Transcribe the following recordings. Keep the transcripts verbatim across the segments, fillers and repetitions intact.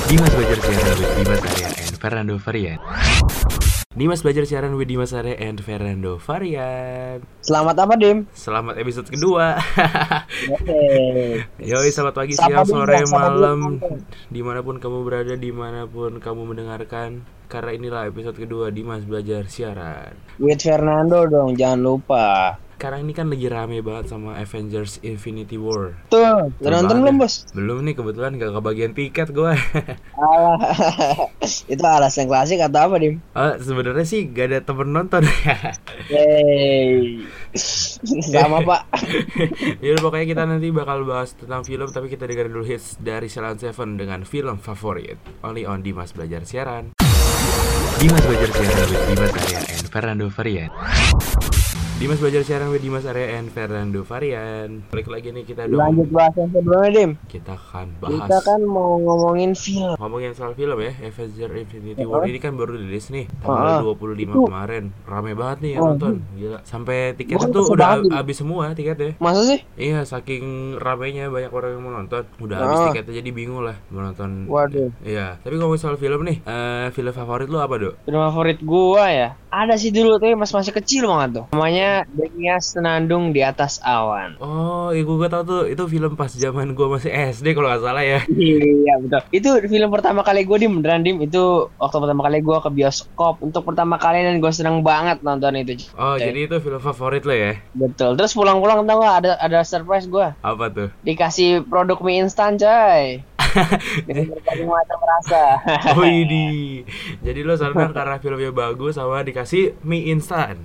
Dimas belajar siaran with Dimas Arya and Fernando Varian. Dimas belajar siaran with Dimas Arya and Fernando Varian. Selamat apa, Dim? Selamat episode kedua. Oke. Yoi, selamat pagi, Sapa siang, Dim, sore, ya, sapa malam, Dim. dimanapun kamu berada, dimanapun kamu mendengarkan. Karena inilah episode kedua Dimas belajar siaran. With Fernando dong, jangan lupa. Sekarang ini kan lagi rame banget sama Avengers Infinity War. Tuh, Betul udah nonton banget belum, ya. Bos? Belum nih, kebetulan gak kebagian tiket gue. Alah. Itu alasan klasik atau apa, Dim? Oh, sebenarnya sih gak ada temen nonton. Yeay. Sama, Pak. Yaudah, pokoknya kita nanti bakal bahas tentang film, tapi kita dengerin dulu hits dari Salon Seven dengan film favorit. Only on Dimas Belajar Siaran. Dimas Belajar Siaran with Dimas Arya and Fernando Varian. Dimas Belajar Siaran with Dimas Arya and Fernando Varian. Balik lagi nih kita dong. Lanjut bahas yang sebelumnya, Dim. Kita akan bahas. Kita kan mau ngomongin film. Ngomongin soal film ya, Avengers Infinity War ini kan baru rilis nih Oh, tanggal dua puluh lima itu. kemarin. Rame banget nih yang Oh, nonton. Gila. Sampai tiketnya Bukan tuh kesel udah banget, Dim. habis semua tiketnya. Masa sih? Iya, saking ramenya banyak orang yang mau nonton. Udah Ah. habis tiketnya, jadi bingung lah mau nonton. Waduh. Iya, tapi ngomongin soal film nih, eh film favorit lu apa, Dok? Film favorit gua ya. Ada sih dulu tuh mas masih kecil banget tuh. Namanya Denyas Senandung di Atas Awan. Oh, iya gue tau tuh, itu film pas zaman gue masih S D kalau nggak salah ya. Iya betul. Itu film pertama kali gue Dim, beneran Dim. Itu waktu pertama kali gue ke bioskop untuk pertama kali dan gue seneng banget nonton itu. Oh, Coy. jadi itu film favorit lo ya? Betul. Terus pulang-pulang tau gak ada ada surprise gue. Apa tuh? Dikasih produk mie instan coy. Dengan berbagai macam rasa. Oh ini, jadi lo senang karena filmnya bagus sama dikasih mie instan.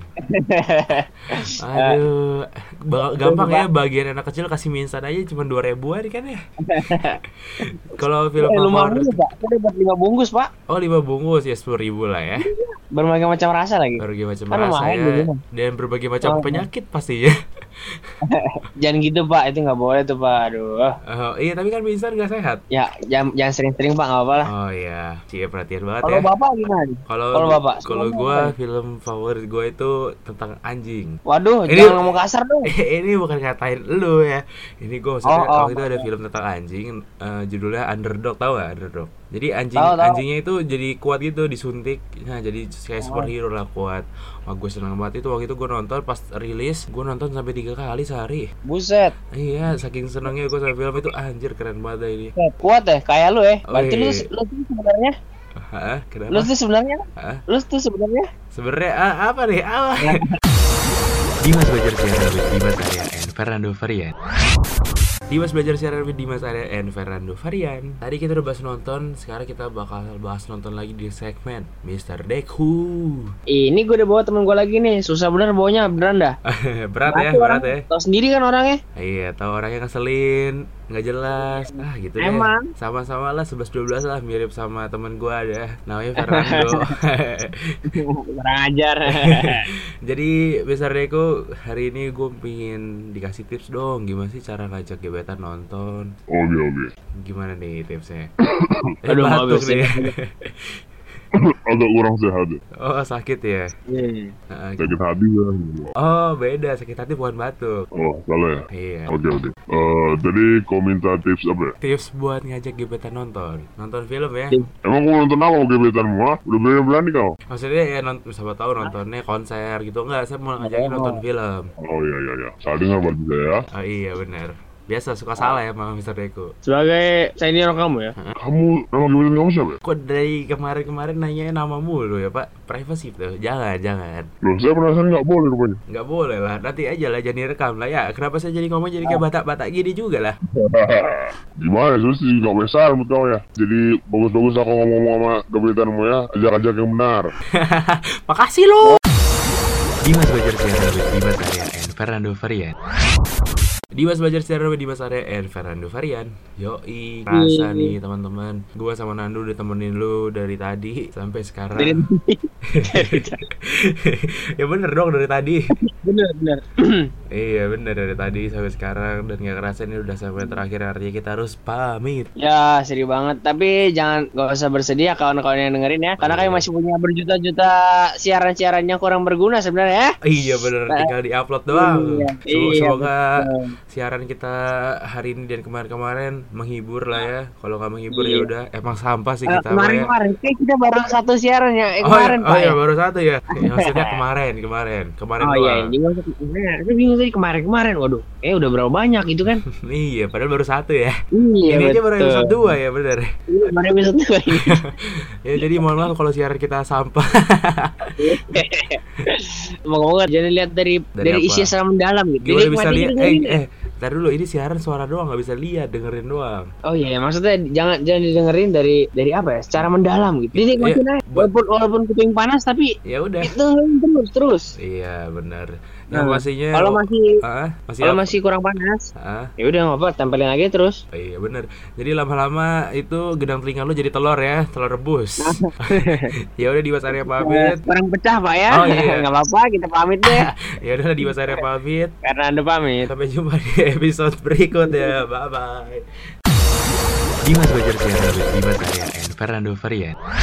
Aduh, ba- gampang ya bagian anak kecil kasih mie instan aja cuma dua ribuan kan ya. Kalau film Eh, lumayan favorit, juga, Pak. Kita dapat lima bungkus, Pak. oh lima bungkus ya sepuluh ribu lah ya. Berbagai macam rasa lagi. Berbagai macam Kan rasa lumayan ya, gitu. dan berbagai macam Oh. penyakit pastinya. Jangan gitu, Pak. Itu nggak boleh tuh, Pak. Aduh. Oh, iya tapi kan mie instan nggak sehat. Ya, jangan jangan sering-sering, Pak. Nggak apa-apa lah. Oh iya, cie perhatian banget Kalau ya. Bapak gimana? Kalau Kalau Bapak, kalau semuanya gue apa? film favorit gue itu tentang anjing. Waduh, Ini- jangan ngomong kasar dong. Ini bukan ngatain lu ya. Ini gue maksudnya Oh, oh, waktu itu ada oh. film tentang anjing, eh, judulnya Underdog, tahu gak Underdog? Jadi anjing Tahu, tahu. anjingnya itu jadi kuat gitu, disuntik. Nah, jadi kayak Oh. superhero lah, kuat. Wah, gue seneng banget itu waktu itu gue nonton pas rilis, gue nonton sampai tiga kali sehari. Buset. Iya, saking senengnya gue sama film itu, anjir keren banget dah ini. Kuat deh, kayak lu ya. Oh, Berarti lu, iya. lu tuh sebenarnya, Hah? Kenapa? lu tuh sebenarnya, Hah? lu tuh sebenarnya. Sebenarnya ah, apa nih? Apa? Dimas belajar siaran with Dimas Arya and Fernando Varian. Dimas belajar siaran with Dimas Arya and Fernando Varian. Tadi kita udah bahas nonton, sekarang kita bakal bahas nonton lagi di segmen Mister Deku. Ini gue udah bawa temen gue lagi nih, susah bener bawanya, beneran dah. Berat ya, Batu berat orangnya. ya. Tahu sendiri kan orangnya. Iya, tahu orangnya ngeselin, nggak jelas. Ah, gitu deh. Emang. Sama-sama lah sebelas dua belas lah, mirip sama temen gua ada. Namanya Fernando. Kurang ajar. Jadi Mister Deku, hari ini gue pengen dikasih tips dong, gimana sih cara ngajak gebetan nonton. Oke oke. Gimana nih tipsnya? Eh, Aduh, batuk habis nih. ya. Agak kurang sehat ya. Oh, sakit ya? Hmm. Nah, Sakit hati ya. oh, beda, sakit hati bukan batuk. Oh salah ya. Iya. Oke oke. Eh tadi kau minta tips apa ya? Tips buat ngajak gebetan nonton. Nonton film ya. Emang kau nonton apa mau gebetanmu ah? Udah berani-berani kau? Maksudnya ya nonton, siapa tahu nontonnya konser gitu. Enggak, saya mau ngajakin nonton film. Oh iya iya iya. Saya dengar berarti saya. Oh iya, benar. Biasa suka salah ya sama Mister Deku. Sebagai senior kamu ya. Kamu nama gebetan kamu siapa ya? Kok dari kemarin-kemarin nanya nama mulu ya, Pak? Privacy tuh. Jangan, jangan. Loh saya penasaran nggak boleh rupanya. Nggak boleh lah, nanti aja lah, jangan direkam lah ya. Kenapa saya jadi ngomong jadi kayak batak-batak gini juga lah. Gimana terus sih nggak besar menurut kau ya? Jadi bagus-bagus aku ngomong-ngomong sama gebetanmu ya. Ajak-ajak yang benar. Makasih lo. Dimas belajar siaran with Dimas Arya and Fernando Varian. Dimas belajar siaran with Dimas Arya and Fernando Varian. Yoi, rasa nih teman-teman. Gua sama Nando udah temenin lu dari tadi sampai sekarang. Dari Ya bener dong, dari tadi. bener bener. Iya bener, dari tadi sampai sekarang. Dan gak kerasa ini udah sampai terakhir, artinya kita harus pamit. Ya sedih banget. Tapi jangan gak usah bersedih ya kawan-kawan yang dengerin ya. Karena kami masih punya berjuta-juta siaran-siaran yang kurang berguna sebenarnya ya. Iya bener, tinggal di-upload doang. Iya, Sem- iya, Semoga betul. siaran kita hari ini dan kemarin-kemarin menghibur lah ya. Kalau nggak menghibur Iya. ya udah emang sampah sih Eh, kita. Pak, ya. kemarin-kemarin kayak kita baru satu siaran ya. Eh, Oh, kemarin iya, Pak oh iya ya. baru satu ya. Ya, maksudnya kemarin, kemarin, kemarin Oh iya, doang. jadi maksudnya, saya bingung tadi kemarin-kemarin. Waduh, eh udah berapa banyak gitu kan? Iya, padahal baru satu ya. Iya, Ini aja baru betul. episode dua ya, bener. Iya, baru episode dua ini. Ya jadi mohon maaf kalau siaran kita sampah. Ngomong-ngomong, jadi lihat dari Dari dari, apa? isi secara mendalam gitu. Gimana Jadi bisa nikmati lihat? gitu, Eh, ini. eh, ntar dulu ini siaran suara doang, nggak bisa lihat, dengerin doang. Oh iya, maksudnya jangan jangan didengerin dari dari apa ya? Secara mendalam gitu. Jadi nikmatin Iya, aja. buat- Walaupun walaupun kuping panas tapi Ya udah. dengerin terus terus. Iya benar. Yang Nah, pastinya. Kalau masih Ah, masih kalau apa? masih kurang panas, Ah, ya udah nggak apa, tempelin lagi terus. oh iya benar. Jadi lama-lama itu gedang telinga lu jadi telur ya, telur rebus. Ya udah Dimas Arya pamit. Kurang pecah Pak ya. Oh, iya. Nggak apa-apa, kita pamit deh. Ya udah Dimas Arya pamit. Karena Anda pamit. Sampai jumpa di episode berikut ya. Bye bye. Dimas Belajar Siaran with Dimas Arya and Fernando Varian.